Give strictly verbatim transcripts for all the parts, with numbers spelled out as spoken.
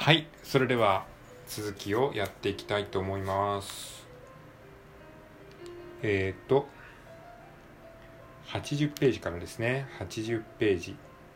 はい、それでは続きをやっていきたいと思います。えっ、ー、とはちじゅうページからですね。はちじゅうページ。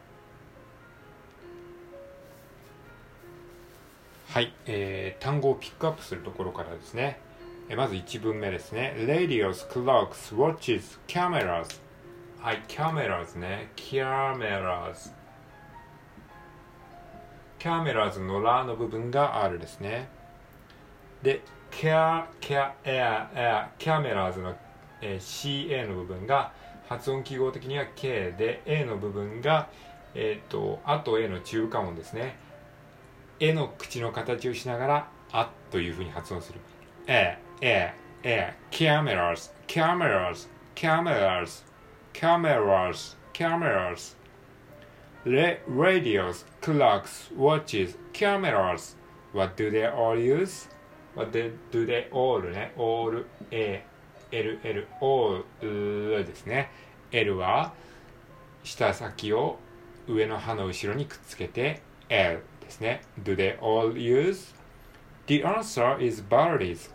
はい、えー、単語をピックアップするところからですね。えー、まずいち文目ですね。Radios, clocks, watches, cameras。はい、cameras ね。cameras。cameras のラの部分が R ですね。で、care, care, air, air, cameras の、えー、シーエー の部分が発音記号的には K で A の部分が、えー、とあと A の中間音ですね。A の口の形をしながらあというふうに発音する。A, A, A, cameras, cameras, cameras, cameras, cameras, radios, clocks, watches, cameras. What do they all use?What do they all ね all A L L all ですね。 L は舌先を上の歯の後ろにくっつけて L ですね。 Do they all use? The answer is batteries。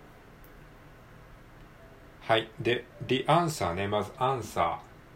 はいで The answer ね。まず answer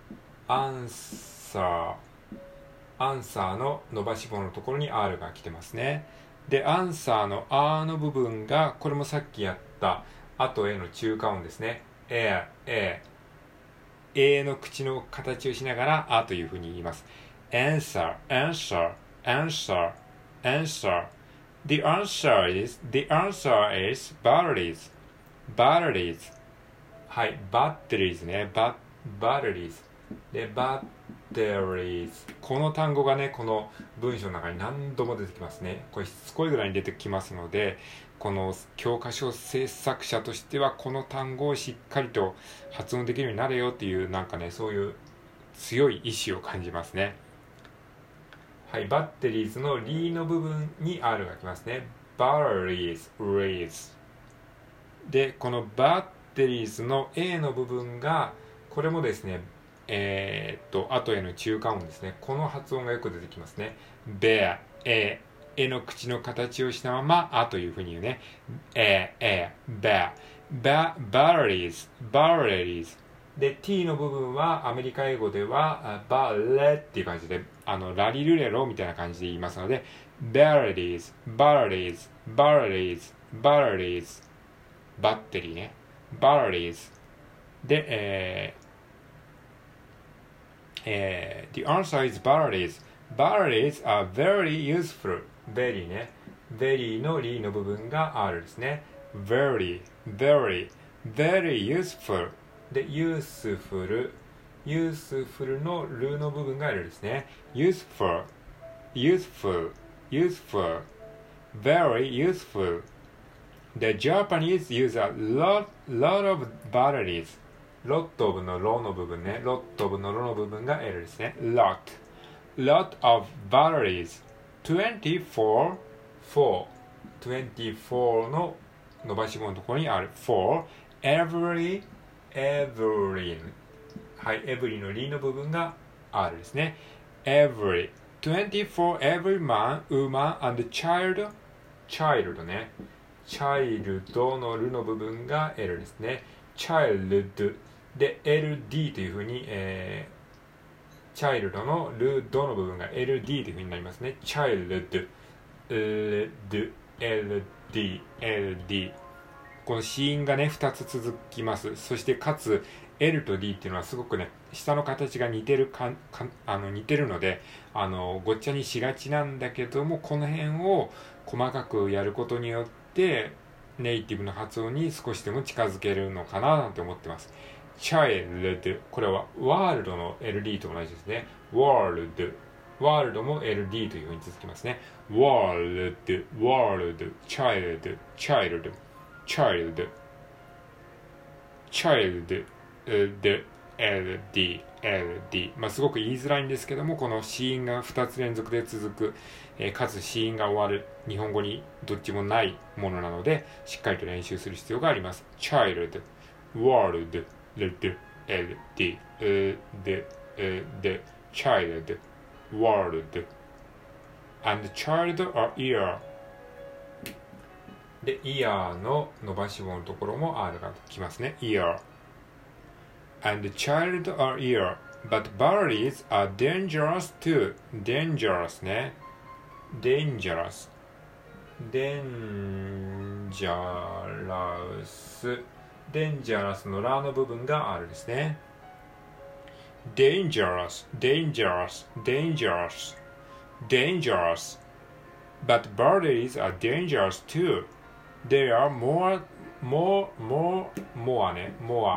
answer answer の伸ばし棒のところに R が来てますね。で、アンサーのあの部分が、これもさっきやったあと A の中間音ですね。A、A、A の口の形をしながらあというふうに言います。answer, answer, answer, answer. The answer is, the answer is batteries, batteries. はい、batteries ね。ババッテリーズ。で、バッテリーズ。この単語がね、この文章の中に何度も出てきますね。これしつこいぐらいに出てきますので、この教科書制作者としてはこの単語をしっかりと発音できるようになれよっていう、なんかね、そういう強い意志を感じますね。はい、バッテリーズのリーの部分に R が来ますね。バッテリーズ、リーズ。で、このバッテリーズの A の部分が、これもですね、えー、っと、後への中間音ですね。この発音がよく出てきますね。bear、え、えの口の形をしたまま、あというふうに言うね。え、え、bear、ba、batteries、batteries。で、t の部分はアメリカ英語では、バレっていう感じで、あの、ラリルレロみたいな感じで言いますので、batteries、batteries、batteries、batteries、バッテリーね。batteries。で、えー、えー、The answer is batteries. Batteries are very useful. very ね。very のリの部分が R ですね。very, very, very useful. で、useful, useful のルの部分が L ですね。useful, useful, useful, very useful. The Japanese use a lot, lot of batteries. ロットオブのロの部分ね。ロットオブのロの部分が L ですね。lot lot of batteries にじゅうよん for にじゅうよんの伸ばし棒のところにある for every every はい every のリの部分が R ですね。 every にじゅうよん every man woman and child child ね。child のルの部分が L ですね。childで エルディー というふうに、えー、チャイルドのルドの部分が エルディー というふうになりますね。チャイルド エルディー エルディー この子音がねふたつ続きます。そしてかつ L と D っていうのはすごくね下の形が似てるかかあの似てるのであのごっちゃにしがちなんだけども、この辺を細かくやることによってネイティブの発音に少しでも近づけるのかななんて思ってます。child これはワールドの エルディー と同じですね。ワールドワールドも エルディー というふうに続きますね。ワールドワールド child child child child で エルディー エルディー まあすごく言いづらいんですけども、この子音がふたつ連続で続く、えー、かつ子音が終わる日本語にどっちもないものなのでしっかりと練習する必要があります。 child world L D L D L D L D child world and child or ear で ear の伸ばし棒のところも R がきますね ear and child or ear but birdies are dangerous too dangerous ね dangerous dangerous dangerous のラの部分が R ですね dangerous dangerous dangerous dangerous but birdies are dangerous too they are more more more more ね more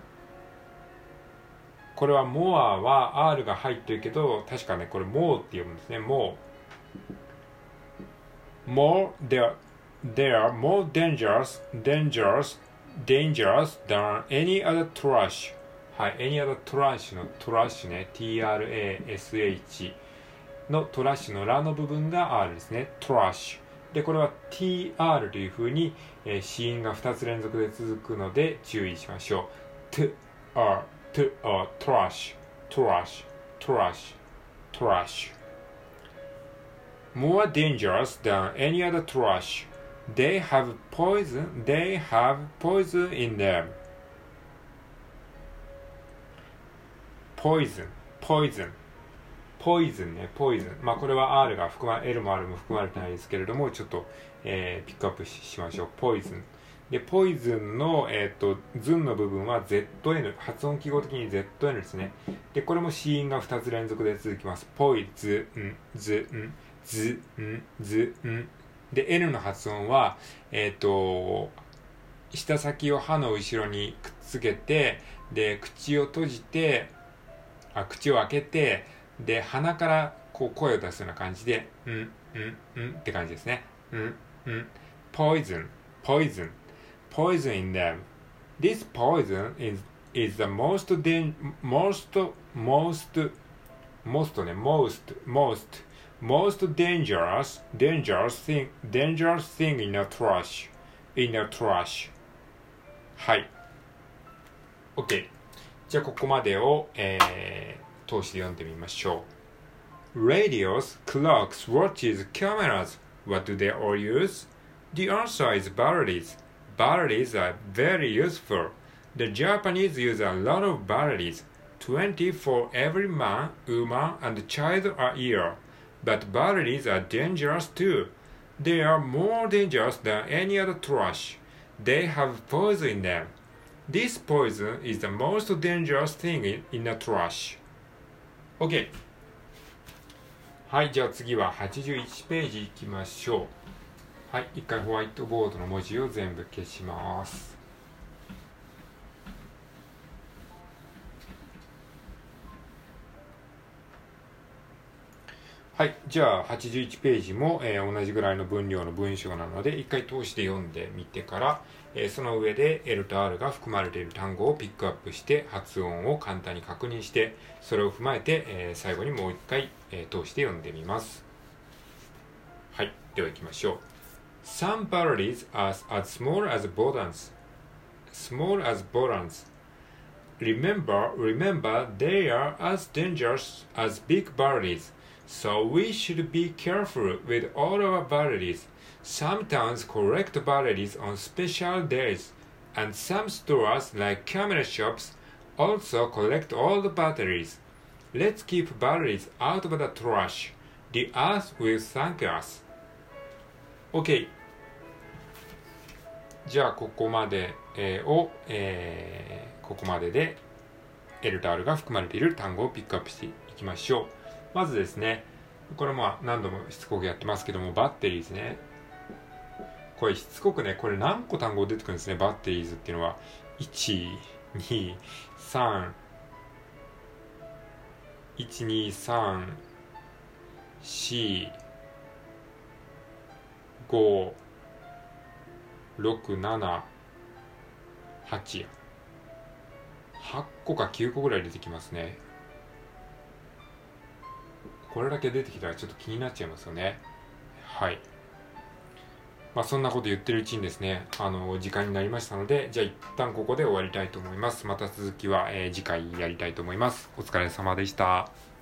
これは more は R が入ってるけど確かねこれ more って読むんですね more more they are, they are more dangerous dangerous dangerous than any other trash はい any other trash の trash ね T-R-A-S-H のトラッシュのラの部分が R ですね trash でこれは ティーアール という風に、えー、子音がふたつ連続で続くので注意しましょう to are to are trash trash trash trash more dangerous than any other trash they have poison they have poison in them poison poisonポイズンね、ポイズン。まあこれは R が含ま、L も R も含まれてないですけれども、ちょっと、えー、ピックアップ し, しましょう。ポイズン。で、ポイズンの、えっ、ー、と、ズンの部分は ゼットエヌ。発音記号的に ゼットエヌ ですね。で、これも子音がふたつ連続で続きます。ポイズン、ズン、ズン、ズン。で、N の発音は、えっ、ー、と、舌先を歯の後ろにくっつけて、で、口を閉じて、あ、口を開けて、で、鼻からこう声を出すような感じで、うん、うん、うんって感じですね。うん、うん。poison, poison, poison in them. This poison is, is the most, dan- most, most, most ね、most, most, most dangerous, dangerous thing, dangerous thing in a trash, in a trash. はい。OK。じゃあ、ここまでを、えー、通して読んでみましょう。Radios, clocks, watches, cameras. What do they all use? The answer is batteries. Batteries are very useful. The Japanese use a lot of batteries. twenty for every man, woman, and child a year. But batteries are dangerous too. They are more dangerous than any other trash. They have poison in them. This poison is the most dangerous thing in, in a trash.OK。はい、じゃあ次ははちじゅういちページいきましょう。はい、一回ホワイトボードの文字を全部消します。はい、じゃあはちじゅういちページも、えー、同じぐらいの分量の文章なので、一回通して読んでみてから、えー、その上で L と R が含まれている単語をピックアップして発音を簡単に確認して、それを踏まえて、えー、最後にもう一回、えー、通して読んでみます。はい、では行きましょう。Some batteries are as small as buttons. Small as buttons. Remember, remember, they are as dangerous as big batteries.So we should be careful with all our batteries. Some towns collect batteries on special days, and some stores like camera shops also collect all the batteries. Let's keep batteries out of the trash. The earth will thank us. OK。じゃあここまで、えー、を、えー、ここまでで L と R が含まれている単語をピックアップしていきましょう。まずですね、これも何度もしつこくやってますけども、バッテリーですね。これしつこくね、これ何個単語出てくるんですね、バッテリーズっていうのは。いち、に、さん、いち、に、さん、よん、ご、ろく、なな、はちや。はっこかきゅうこぐらい出てきますね。これだけ出てきたらちょっと気になっちゃいますよね。はい。まあそんなこと言ってるうちにですね、あの時間になりましたので、じゃあ一旦ここで終わりたいと思います。また続きは、えー、次回やりたいと思います。お疲れ様でした。